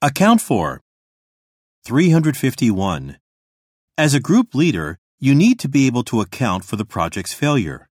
Account for. 351. As a group leader, you need to be able to account for the project's failure.